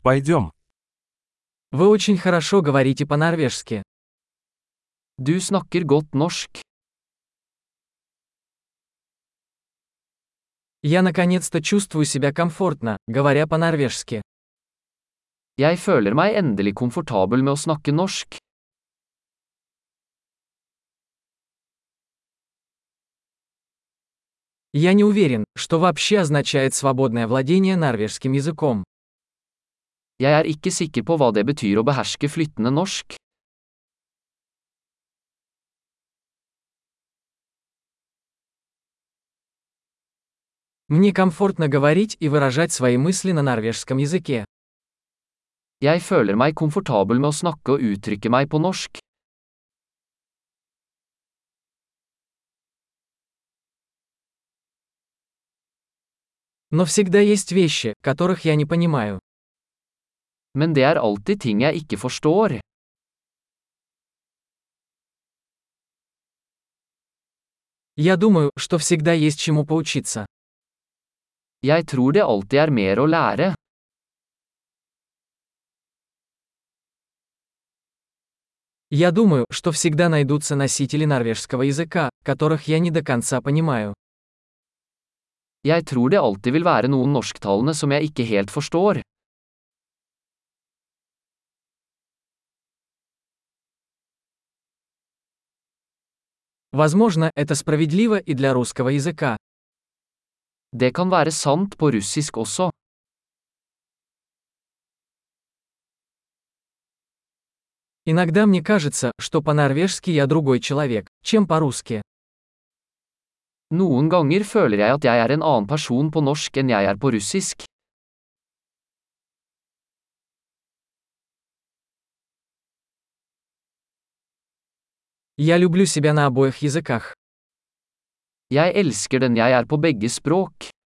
Пойдем. Вы очень хорошо говорите по-норвежски. Du snakker godt norsk. Я наконец-то чувствую себя комфортно, говоря по-норвежски. Jeg føler meg endelig komfortabel med å snakke norsk. Я не уверен, что вообще означает свободное владение норвежским языком. Jeg er ikke sikker på hva det betyr å beherske flytende norsk. Мне комфортно говорить и выражать свои мысли на норвежском языке. Jeg føler meg komfortabel med å snakke og uttrykke meg på norsk. Но всегда есть вещи, которых я не понимаю. Men det er alltid ting jeg ikke forstår. Я думаю, что всегда есть чему поучиться. Jeg tror det alltid er mer å lære. Я думаю, что всегда найдутся носители норвежского языка, которых я не до конца понимаю. Jeg tror det alltid vil være noen norsktalende som jeg ikke helt forstår. Возможно, это справедливо и для русского языка. Det kan være sant på russisk også. Иногда мне кажется, что по-норвежски я другой человек, чем по-русски. Noen ganger føler jeg at jeg er en annen person på norsk enn jeg er på russisk. Я люблю себя на обоих языках. Jeg elsker den jeg er på begge språk.